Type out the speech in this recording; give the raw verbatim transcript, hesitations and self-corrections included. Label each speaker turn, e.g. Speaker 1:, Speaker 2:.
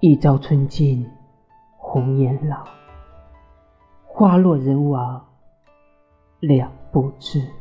Speaker 1: 一朝春尽红颜老，花落人亡两不知。